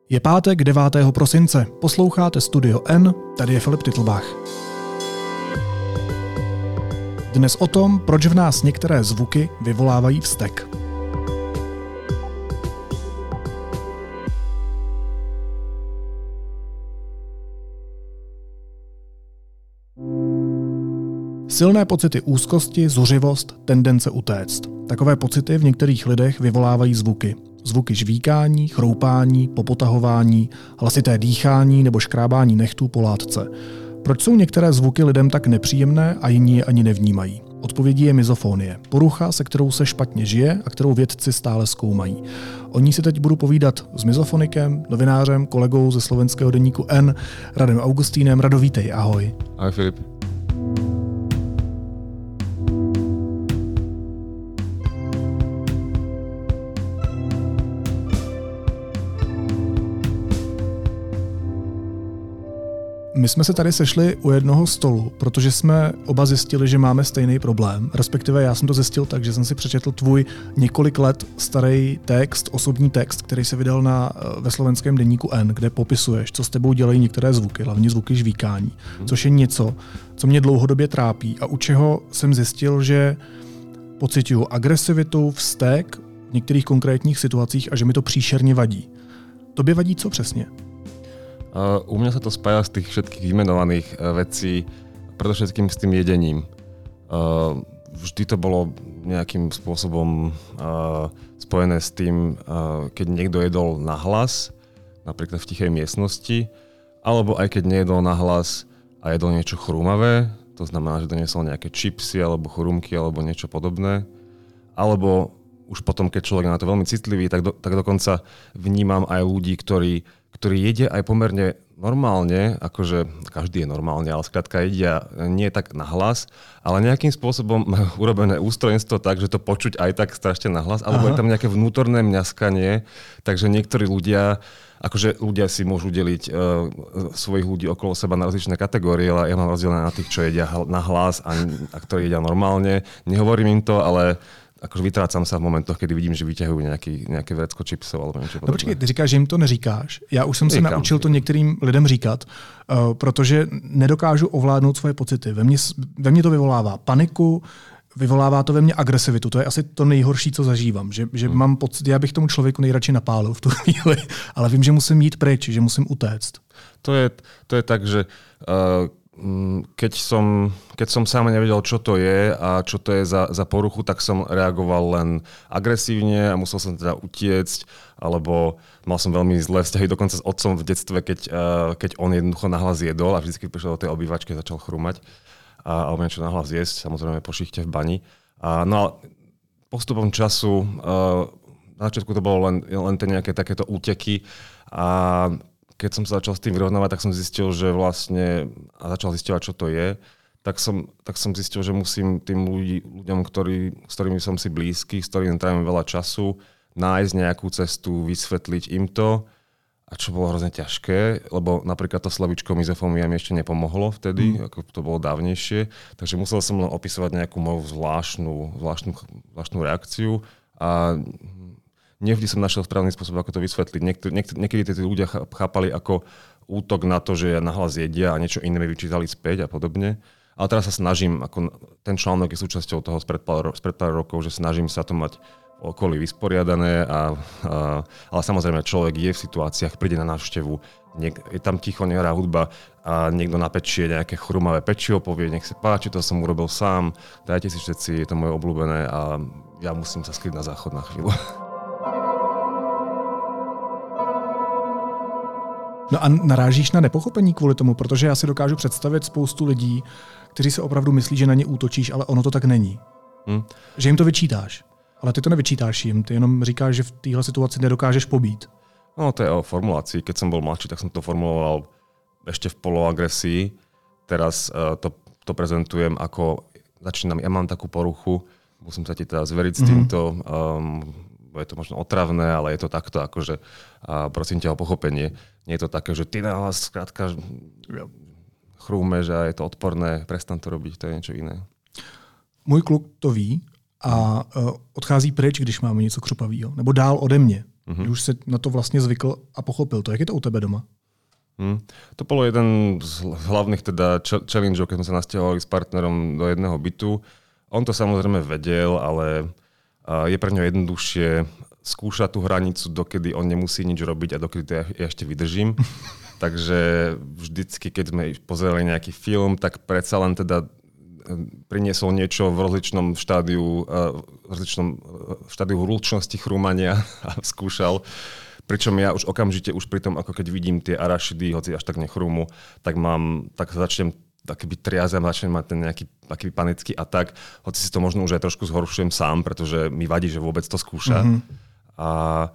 Je pátek 9. prosince. Posloucháte Studio N, tady je Filip Titlbach. Dnes o tom, proč v nás některé zvuky vyvolávají vztek. Silné pocity úzkosti, zuřivost, tendence utéct. Takové pocity v některých lidech vyvolávají zvuky. Zvuky žvíkání, chroupání, popotahování, hlasité dýchání nebo škrábání nechtů po látce. Proč jsou některé zvuky lidem tak nepříjemné a jiní je ani nevnímají? Odpovědí je mizofonie, porucha, se kterou se špatně žije a kterou vědci stále zkoumají. O ní si teď budu povídat s mizofonikem, novinářem, kolegou ze slovenského deníku N, Radem Augustínem. Rado, vítej, ahoj. Ahoj, Filip. My jsme se tady sešli u jednoho stolu, protože jsme oba zjistili, že máme stejný problém. Respektive já jsem to zjistil tak, že jsem si přečetl tvůj několik let starý text, osobní text, který se vydal ve slovenském deníku N, kde popisuješ, co s tebou dělají některé zvuky, hlavně zvuky žvíkání, což je něco, co mě dlouhodobě trápí a u čeho jsem zjistil, že pociťuju agresivitu, vztek v některých konkrétních situacích a že mi to příšerně vadí. Tobě vadí co přesně? U mňa sa to spája z tých všetkých vymenovaných vecí, predovšetkým s tým jedením. Vždy to bolo nejakým spôsobom spojené s tým, keď niekto jedol nahlas, napríklad v tichej miestnosti, alebo aj keď nejedol nahlas a jedol niečo chrúmavé, to znamená, že doniesol nejaké čipsy alebo chrúmky alebo niečo podobné, alebo už potom, keď človek na to veľmi citlivý, tak dokonca vnímam aj ľudí, ktorí jedia aj pomerne normálne, akože každý je normálne, ale skrátka jedia nie tak nahlas, ale nejakým spôsobom majú urobené ústrojenstvo tak, že to počuť aj tak strašne nahlas, alebo je tam nejaké vnútorné mňaskanie, takže niektorí ľudia, akože ľudia si môžu deliť svojich ľudí okolo seba na rozličné kategórie, ale ja mám rozdelené na tých, čo jedia nahlas a ktorí jedia normálne. Nehovorím im to, ale akože vytrácam sa v momentoch, kedy vidím, že vyťahujú nejaké vrecko čipsov alebo niečo podobné. No počkej, ty říkáš, že jim to neříkáš. Já už jsem se naučil to některým lidem říkat, protože nedokážu ovládnout svoje pocity. Ve mně to vyvolává paniku, vyvolává to ve mně agresivitu. To je asi to nejhorší, co zažívám. Že mám pocit, já bych tomu člověku nejradši napálil v tu chvíli, ale vím, že musím jít pryč, že musím utéct. To je tak, že keď som sám nevedel, čo to je a čo to je za poruchu, tak som reagoval len agresívne a musel som teda utiecť, alebo mal som veľmi zlé vzťahy dokonca s otcom v detstve, keď on jednoducho nahlas jedol a vždycky prišiel do tej obývačky a začal chrumať alebo niečo nahlas jesť, samozrejme po šichte v bani. No a postupom času, na začiatku to bolo len tie nejaké takéto úteky a keď som sa začal s tým vyrovnávať, tak som zistil, že vlastne, a začal zisťovať, čo to je, tak som zistil, že musím tým ľuďom, s ktorými som si blízky, s ktorými trávim veľa času, nájsť nejakú cestu, vysvetliť im to, a čo bolo hrozne ťažké, lebo napríklad to slovíčko mizofónia mi ešte nepomohlo vtedy, ako to bolo dávnejšie, takže musel som len opisovať nejakú moju zvláštnu reakciu a nevždy som našiel správny spôsob, ako to vysvetliť. Niekedy tí ľudia chápali ako útok na to, že nahlas jedia a niečo iné mi vyčítali späť a podobne. Ale teraz sa snažím, ako ten článok je súčasťou toho spred pár rokov, že snažím sa to mať okolí vysporiadané, ale samozrejme človek je v situáciách, príde na návštevu, je tam ticho, nehrá hudba a niekto napečie nejaké chrumavé pečivo, povie, nech sa páči, to som urobil sám, dajte si všetci, je to moje obľúbené a ja musím sa skryť na záchod na chvíľu. No a narážíš na nepochopení kvůli tomu, protože já si dokážu představit spoustu lidí, kteří se opravdu myslí, že na ně útočíš, ale ono to tak není. Že jim to vyčítáš, ale ty to nevyčítáš jim, ty jenom říkáš, že v téhle situaci nedokážeš pobít. No to je o formulácii. Keď som bol mladší, tak som to formuloval ešte v poloagresii. Teraz to prezentujem ako začínam, ja mám takú poruchu, musím sa ti teda zveriť s týmto, je to možno otravné, ale je to takto, akože prosím ťa o pochopenie. Nie je to také, že ty nahlas skrátka chrúmeš a je to odporné, prestan to robiť, to je niečo iné. Můj kluk to ví a odchází pryč, když máme něco křupavého, nebo dál ode mě. Že už si na to vlastně zvykl a pochopil to. Jak je to u tebe doma? To bolo jeden z hlavných teda challengeov, keď sme sa nasťahovali s partnerom do jedného bytu. On to samozrejme vedel, ale je pre ňo jednoduchšie skúšať tú hranicu, dokedy on nemusí nič robiť a dokedy to ja ešte vydržím. Takže vždycky, keď sme pozerali nejaký film, tak predsa len teda priniesol niečo v rozličnom štádiu hlučnosti chrúmania a skúšal. Pričom ja už okamžite, už pri tom, ako keď vidím tie arašidy, hoci až tak nechrúmu, tak začnem taký byť triazem, začnem mať ten nejaký taký panický atak, hoci si to možno už aj trošku zhoršujem sám, pretože mi vadí, že vôbec to skúša. A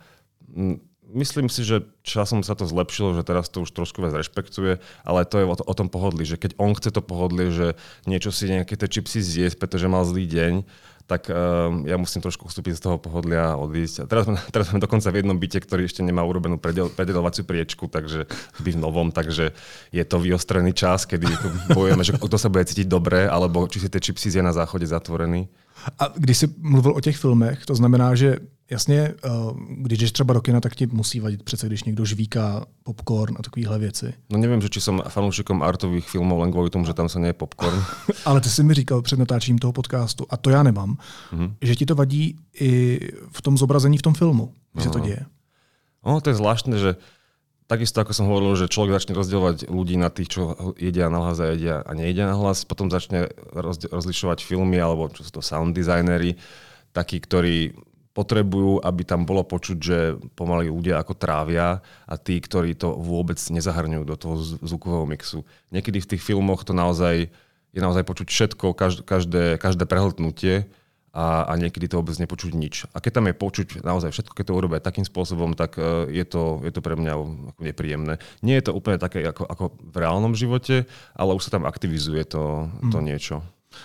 myslím si, že časom sa to zlepšilo, že teraz to už trošku viac rešpektuje, ale to je o tom pohodlí, že keď on chce to pohodlie, že niečo si nejaké tie čipsy zjesť, pretože mal zlý deň, tak ja musím trošku ustúpiť z toho pohodlia a odísť. A teraz sme dokonca v jednom byte, ktorý ešte nemá urobenú predeľovaciu priečku, takže v novom, takže je to vyostrený čas, kedy bojujeme, že kto sa bude cítiť dobre, alebo či si tie čipsy zje na záchode zatvorený. A když jsi mluvil o těch filmech, to znamená, že jasně, když jdeš třeba do kina, tak ti musí vadit přece, když někdo žvíká popcorn a takovéhle věci. No nevím, že či som fanúšikom artových filmov len kvůli tomu, že tam se nie je popcorn. Ale ty jsi mi říkal před natáčením toho podcastu, a to já nemám, že ti to vadí i v tom zobrazení v tom filmu, že se to děje. No, to je zvláštne, že takisto, ako som hovoril, že človek začne rozdielovať ľudí na tých, čo jedia nahlas a jedia a nejedia nahlas, potom začne rozlišovať filmy, alebo čo sú to sound designery, takí, ktorí potrebujú, aby tam bolo počuť, že pomaly ľudia ako trávia a tí, ktorí to vôbec nezahrňujú do toho zvukového mixu. Niekedy v tých filmoch to je naozaj počuť všetko, každé prehltnutie a niekedy to vôbec nepočuť nič. A keď tam je počuť naozaj všetko, keď to urobia takým spôsobom, tak je to pre mňa nepríjemné. Nie je to úplne také ako v reálnom živote, ale už sa tam aktivizuje to niečo.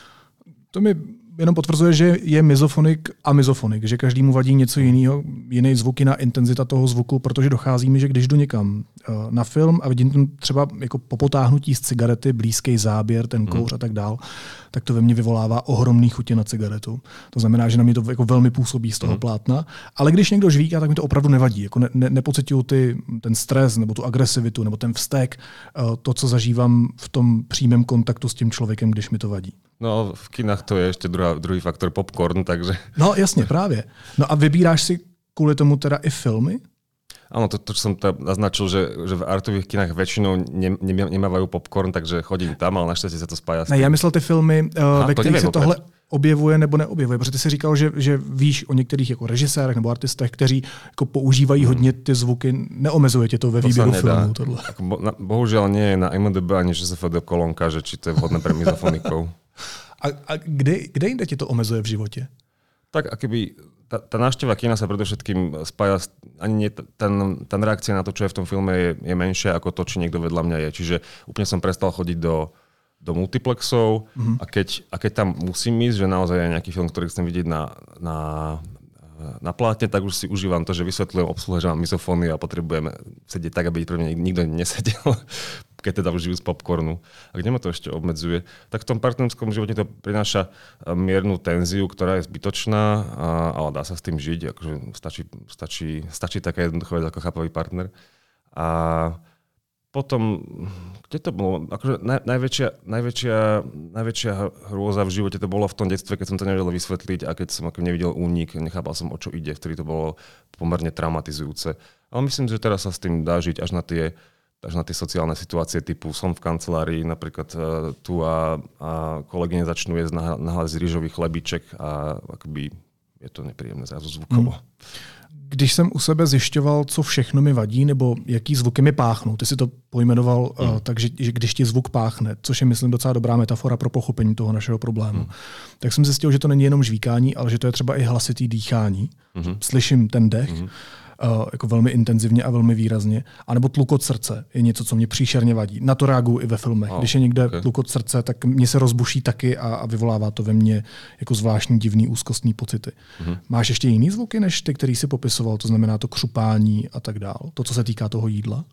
To mi jenom potvrzuje, že je mizofonik a mizofonik, že každému vadí něco jiného, jiný zvuk, jiná intenzita toho zvuku, protože dochází mi, že když jdu někam na film a vidím tam třeba jako po potáhnutí z cigarety, blízký záběr, ten kouř a tak dál, tak to ve mně vyvolává ohromný chutě na cigaretu. To znamená, že na mě to jako velmi působí z toho plátna, ale když někdo žvíká, tak mi to opravdu nevadí. Jako nepocituju ten stres nebo tu agresivitu nebo ten vztek, to, co zažívám v tom přímém kontaktu s tím člověkem, když mi to vadí. No, v kinách to je ešte druhý faktor popcorn, takže... No jasně, právě. No a vybíráš si kvůli tomu teda i filmy? Áno, to čo som naznačil, že v artových kinách väčšinou nemávajú popcorn, takže chodím tam, ale naštěstí sa to spája s tím. Ne, já myslel ty filmy, ve kterých se tohle objevuje nebo neobjevuje, protože ty si říkal, že víš o některých jako režisérech nebo artistech, kteří jako používají hodně ty zvuky, neomezuje tě to ve výběru filmů. Tohle. Bohužiaľ nie je na IMDb ani ŽSFD kolónka, že či to je vhodné pre mizofonikov. A kde jinde ti to omezuje v životě? Tak akoby tá návšteva kina sa predovšetkým spája, ani nie, tá reakcia na to, čo je v tom filme, je menšia ako to, či niekto vedľa mňa je. Čiže úplne som prestal chodiť do multiplexov a keď tam musím ísť, že naozaj je nejaký film, ktorý chcem vidieť na plátne, tak už si užívam to, že vysvetľujem obsluhe, že mám misofóny a potrebujem sedieť tak, aby pre mňa nikto nesedel, keď teda už žijú z popcornu. A kde ma to ešte obmedzuje, tak v tom partnerskom živote to prináša miernu tenziu, ktorá je zbytočná, ale dá sa s tým žiť. Akože stačí taká jednoduchá vec ako chápavý partner. A potom, kde to bolo? Akože najväčšia hrôza v živote to bolo v tom detstve, keď som to nevedel vysvetliť a keď som nevidel únik, nechápal som, o čo ide, vtedy to bolo pomerne traumatizujúce. Ale myslím, že teraz sa s tým dá žiť až na tie sociálne situácie typu som v kancelárii, napríklad tu a kolegyne začnú jesť nahlas rýžový chlebíček a akoby je to nepríjemné zrazu zvukovo. Když jsem u sebe zjišťoval, co všechno mi vadí, nebo jaký zvuky mi páchnou, ty si to pojmenoval takže že když ti zvuk páchne, což je, myslím, docela dobrá metafora pro pochopení toho našeho problému, tak jsem zjistil, že to není jenom žvíkání, ale že to je třeba i hlasitý dýchání. Slyším ten dech, jako velmi intenzivně a velmi výrazně. A nebo tlukot srdce je něco, co mě příšerně vadí. Na to reaguju i ve filmech. Když je někde tlukot srdce, tak mě se rozbuší taky a vyvolává to ve mně jako zvláštní divný úzkostní pocity. Máš ještě jiný zvuky než ty, který si popisoval? To znamená to křupání a tak dál. To, co se týká toho jídla?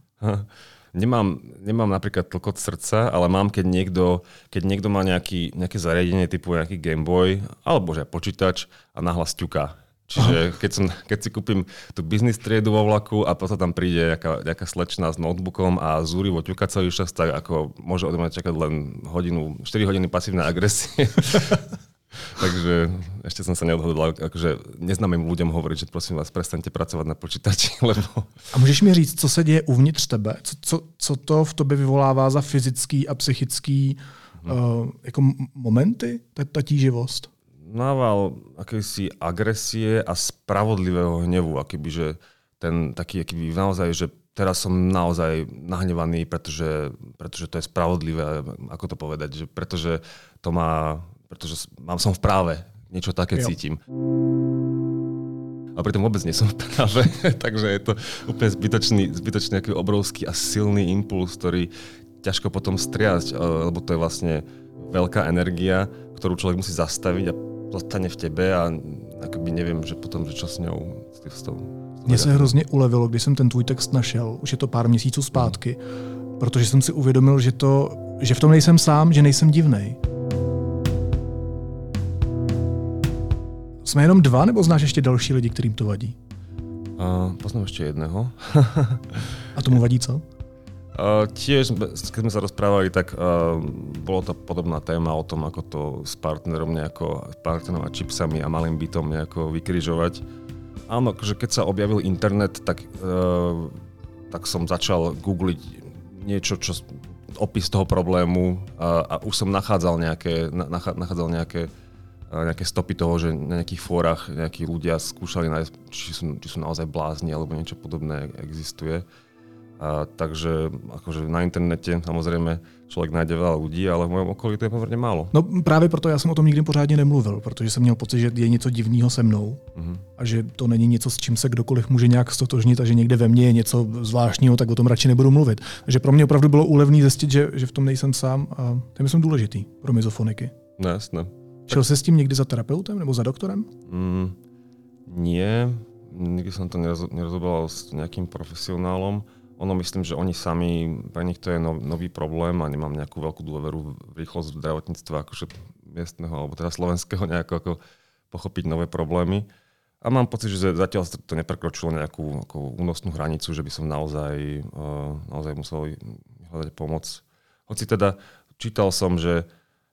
Nemám napríklad tlkot srdca, ale mám, keď niekto má nejaké zariadenie typu nejaký Game Boy alebo že počítač a nahlas ťuká. Čiže keď si kúpim tú business triedu vo vlaku a potom tam príde nejaká slečna s notebookom a zúrivo ťuka celý čas, tak ako môže odo mňa čakať len 4 hodiny pasívnej agresie. Takže ešte som sa neodhodlal akože neznámym ľuďom hovoriť, že prosím vás, prestaňte pracovať na počítači. Lebo... A můžeš mi říct, co se děje uvnitř tebe? Co to v tobě vyvolává za fyzický a psychický jako momenty, ta tíživost? Nával akejsi agresie a spravodlivého hnevu, akýby, že ten taký, akýby naozaj, že teraz som naozaj nahnevaný, pretože to je spravodlivé, ako to povedať, že pretože som v práve, niečo také cítim. A pritom vôbec nie som v práve, takže je to úplne zbytočný aký obrovský a silný impuls, ktorý ťažko potom striasť, lebo to je vlastne veľká energia, ktorú človek musí zastaviť a zostane v tebe a akoby neviem, že potom, že čo s ňou. Mně se hrozně ulevilo, když jsem ten tvůj text našel, už je to pár měsíců zpátky, protože jsem si uvědomil, že v tom nejsem sám, že nejsem divnej. Jsme jenom 2, nebo znáš ještě další lidi, kterým to vadí? Poznám ještě jedného. A tomu vadí co? Tiež, keď sme sa rozprávali, tak bolo to podobná téma o tom, ako to s partnerom a čipsami a malým bytom nejako vykrižovať. Áno, že keď sa objavil internet, tak som začal googliť niečo, opis toho problému a už som nachádzal nejaké stopy toho, že na nejakých fórach nejakí ľudia skúšali nájsť, či sú naozaj blázni alebo niečo podobné existuje. Takže akože na internete samozrejme člověk najde veľa ľudí, ale v mojom okolí to je pomerne málo. No právě proto já jsem o tom nikdy pořádně nemluvil, protože jsem měl pocit, že je něco divného se mnou a že to není něco, s čím se kdokoliv může nějak stotožnit a že někde ve mně je něco zvláštního, tak o tom radši nebudu mluvit. Takže pro mě opravdu bylo úlevný zjistit, že v tom nejsem sám a to je myslím důležitý pro mizofoniky. No jasné. Šel jsi s tím někdy za terapeutem nebo za doktorem? Nie, nikdy som to nerozoberal s nejakým profesionálom. Ono myslím, že oni sami, pre nich to je nový problém a nemám nejakú veľkú dôveru v rýchlosť zdravotníctva akože miestneho alebo teda slovenského nejako ako pochopiť nové problémy. A mám pocit, že zatiaľ to neprekročilo nejakú únosnú hranicu, že by som naozaj musel hľadať pomoc. Hoci teda čítal som, že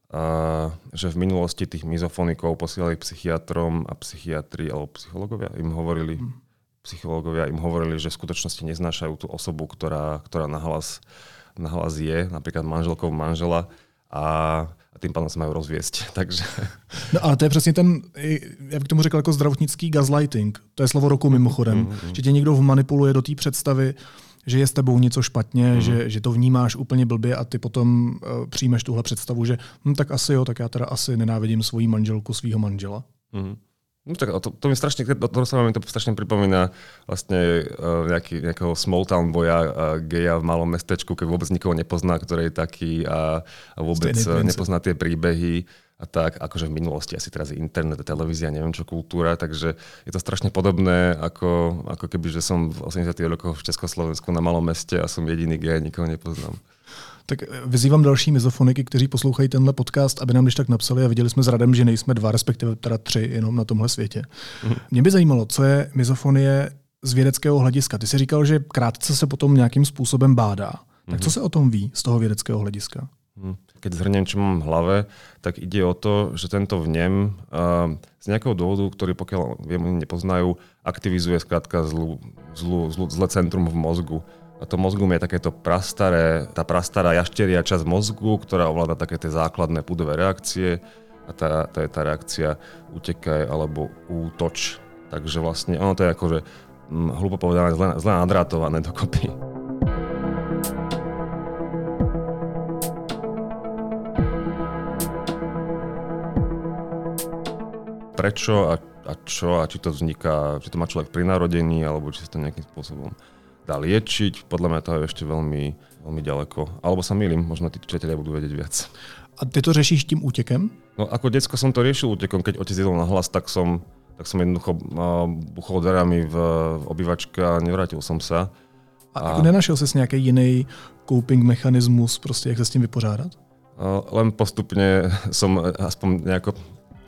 v minulosti tých mizofonikov posielali psychiatrom a psychiatri alebo psychológovia im hovorili, že v skutočnosti neznášajú tú osobu, ktorá nahlas je, napríklad manželkou manžela a tým pádem sa majú rozviesť. Takže... No ale to je přesně ten, já bych tomu řekl jako zdravotnický gaslighting. To je slovo roku mimochodem. Že tě někdo vmanipuluje do té představy, že je s tebou něco špatně, že to vnímáš úplně blbě a ty potom přijmeš tuhle představu, že tak asi jo, tak já teda asi nenávidím svoji manželku, svýho manžela. No tak to mi strašne, to strašne pripomína vlastne nejakého small town boja, geja v malom mestečku, keď vôbec nikoho nepozná, ktorý je taký a vôbec nepozná tie príbehy a tak, akože v minulosti asi teraz je internet, televízia, neviem čo, kultúra, takže je to strašne podobné, ako keby, že som v 80. rokoch v Československu na malom meste a som jediný gej, nikoho nepoznám. Tak vyzývám další mizofoniky, kteří poslouchají tenhle podcast, aby nám když tak napsali a viděli jsme s Radem, že nejsme 2, respektive teda 3 jenom na tomhle světě. Mě by zajímalo, co je mizofonie z vědeckého hlediska. Ty jsi říkal, že krátce se potom nějakým způsobem bádá. Tak co se o tom ví z toho vědeckého hlediska? Keď zhrniem, čo mám v hlave, tak ide o to, že tento vnem z nejakého dôvodu, ktorý pokiaľ viem, nepoznajú, aktivizuje skrátka zlé centrum v mozgu. A to mozgum je takéto tá prastará jašteria časť mozgu, ktorá ovláda také tie základné pudové reakcie a to je tá reakcia utekaj alebo útoč. Takže vlastne ono to je akože hlupo povedané zle nadrátované dokopy. Prečo a čo a či to vzniká, či to má človek pri narodení alebo či sa to nejakým spôsobom dá liečiť. Podľa mňa to je ešte veľmi, veľmi ďaleko. Alebo sa mýlim, možno tí čitatelia budú vedieť viac. A ty to řešíš tím útekem? No ako decko som to riešil útekom. Keď otec jedol na hlas, tak som jednoducho buchol dverami v obývačke a nevrátil som sa. A nenašel ses nějaký jiný coping mechanismus, prostě jak se s tím vypořádat? Len postupne som aspoň nejako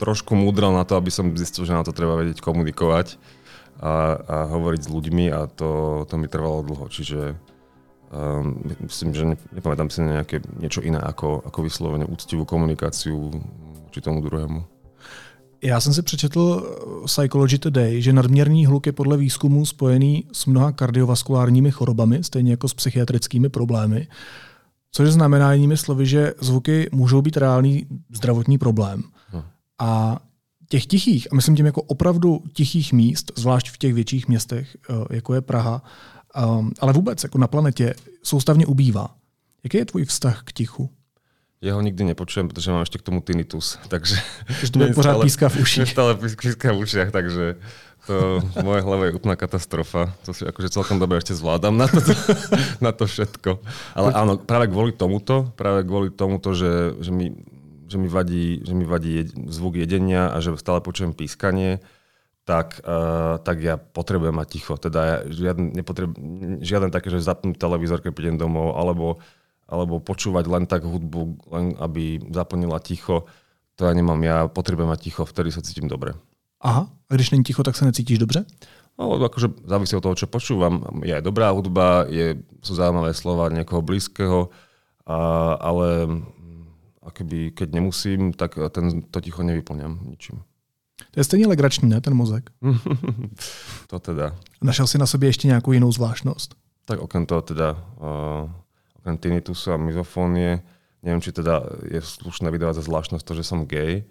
trošku múdral na to, aby som zistil, že na to treba vedieť komunikovať a hovoriť s ľuďmi a to mi trvalo dlho. Čiže myslím, že nepamätám si na niečo iné ako vyslovene úctivú komunikáciu či tomu druhému. Já jsem si přečetl Psychology Today, že nadměrný hluk je podle výzkumu spojený s mnoha kardiovaskulárními chorobami, stejně jako s psychiatrickými problémy, což znamená jinými slovy, že zvuky můžou být reálný zdravotní problém. A těch tichých, a myslím tím jako opravdu tichých míst, zvlášť v těch větších městech, jako je Praha, ale vůbec jako na planetě, soustavně ubývá. Jaký je tvůj vztah k tichu? Ja ho nikdy nepočujem, protože mám ešte k tomu tinnitus, takže to je pořád píská v uších. Stále píská v ušiach, takže to v mojej hlave je úplná katastrofa. To si akože celkom dobre ešte zvládam na to všetko. Ale áno, práve kvôli tomuto, že mi vadí zvuk jedenia a že stále počujem pískanie, tak ja potrebujem mať ticho. Teda žiaden také, že zapnúť televízor, keď prídem domov, alebo počúvať len tak hudbu, len aby zaplnila ticho. To ja nemám. Ja potrebujem mať ticho, vtedy sa cítim dobre. Aha, a když není ticho, tak sa necítiš dobře? No, akože závisí od toho, čo počúvam. Je aj dobrá hudba, sú zaujímavé slova niekoho blízkeho, ale akoby, keď nemusím, tak to ticho nevyplňam ničím. To je stejně legrační, ne, ten mozek? To teda. Našel si na sobě ještě nějakou jinou zvláštnost? Tak okrem toho teda... okrem tinnitusu a mizofónie. Neviem, či teda je slušné vydávať za zvláštnosť to, že som gay.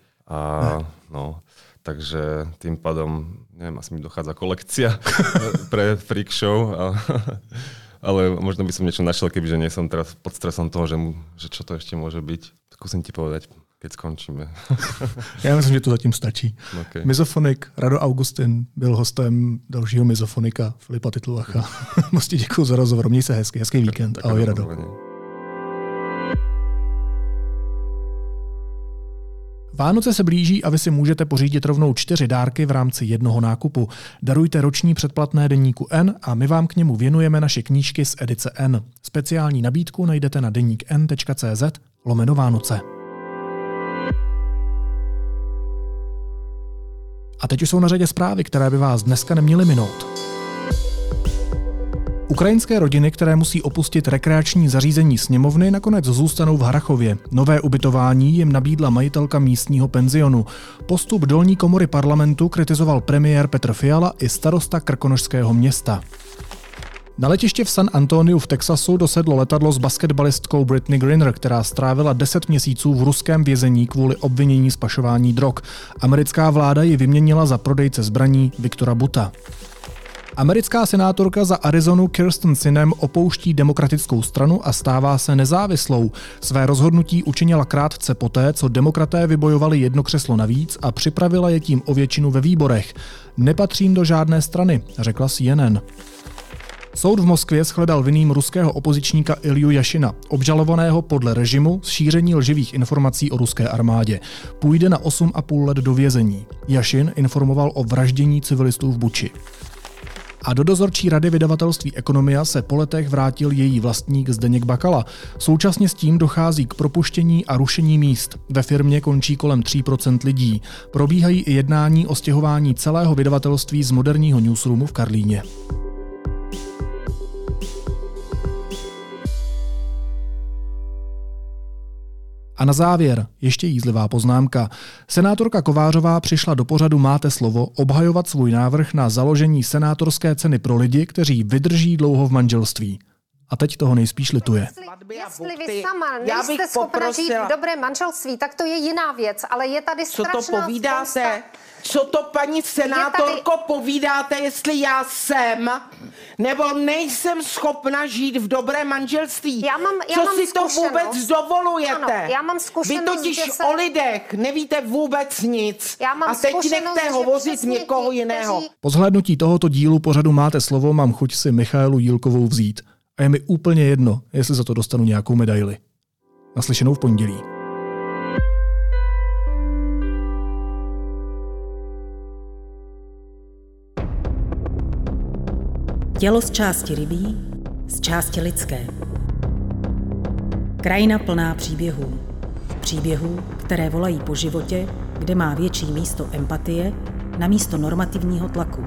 Takže tým pádom, neviem, asi mi dochádza kolekcia pre freak show. Ale možno by som niečo našiel, kebyže nie som teraz pod stresom toho, že čo to ešte môže byť. Skúsim ti povedať, keď skončíme. Já myslím, že to zatím stačí. Okay. Mizofonik Rado Augustin byl hostem dalšího mizofonika Filipa Titluacha. Moc ti děkuju za rozhovor. Měj se hezký víkend. Ahoj, Rado. Vánoce se blíží a vy si můžete pořídit rovnou 4 dárky v rámci jednoho nákupu. Darujte roční předplatné deníku N a my vám k němu věnujeme naše knížky z edice N. Speciální nabídku najdete na denikn.cz/Vánoce. A teď už jsou na řadě zprávy, které by vás dneska neměly minout. Ukrajinské rodiny, které musí opustit rekreační zařízení sněmovny, nakonec zůstanou v Harrachově. Nové ubytování jim nabídla majitelka místního penzionu. Postup dolní komory parlamentu kritizoval premiér Petr Fiala i starosta Krkonošského města. Na letiště v San Antoniu v Texasu dosedlo letadlo s basketbalistkou Brittney Griner, která strávila 10 měsíců v ruském vězení kvůli obvinění z pašování drog. Americká vláda ji vyměnila za prodejce zbraní Viktora Buta. Americká senátorka za Arizonu Kyrsten Sinema opouští demokratickou stranu a stává se nezávislou. Své rozhodnutí učinila krátce poté, co demokraté vybojovali 1 křeslo navíc a připravila je tím o většinu ve výborech. Nepatřím do žádné strany, řekla CNN. Soud v Moskvě shledal vinným ruského opozičníka Ilju Jašina, obžalovaného podle režimu z šíření lživých informací o ruské armádě. Půjde na 8,5 let do vězení. Jašin informoval o vraždění civilistů v Buči. A do dozorčí rady vydavatelství Ekonomia se po letech vrátil její vlastník Zdeněk Bakala. Současně s tím dochází k propuštění a rušení míst. Ve firmě končí kolem 3% lidí. Probíhají i jednání o stěhování celého vydavatelství z moderního newsroomu v Karlíně. A na závěr ještě jízlivá poznámka. Senátorka Kovářová přišla do pořadu Máte slovo obhajovat svůj návrh na založení senátorské ceny pro lidi, kteří vydrží dlouho v manželství. A teď toho nejspíš lituje. Jestli vy sama nejste schopna žít v dobrém manželství, tak to je jiná věc, ale je tady strašná spousta... Co to povídáte? Co to, paní senátorko, povídáte, jestli já jsem nebo nejsem schopna žít v dobrém manželství? Co si to vůbec dovolujete? Ano, já mám zkušenost, vy totiž o lidech nevíte vůbec nic. A teď nechte hovořit někoho jiného. Po zhlédnutí tohoto dílu pořadu Máte slovo mám chuť si Michaelu Jílkovou vzít. A je mi úplně jedno, jestli za to dostanu nějakou medaili. Naslyšenou v pondělí. Tělo z části rybí, z části lidské. Krajina plná příběhů. Příběhů, které volají po životě, kde má větší místo empatie na místo normativního tlaku.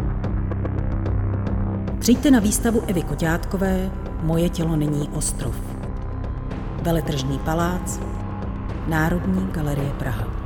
Přijďte na výstavu Evy Koťátkové Moje tělo není ostrov. Veletržní palác, Národní galerie Praha.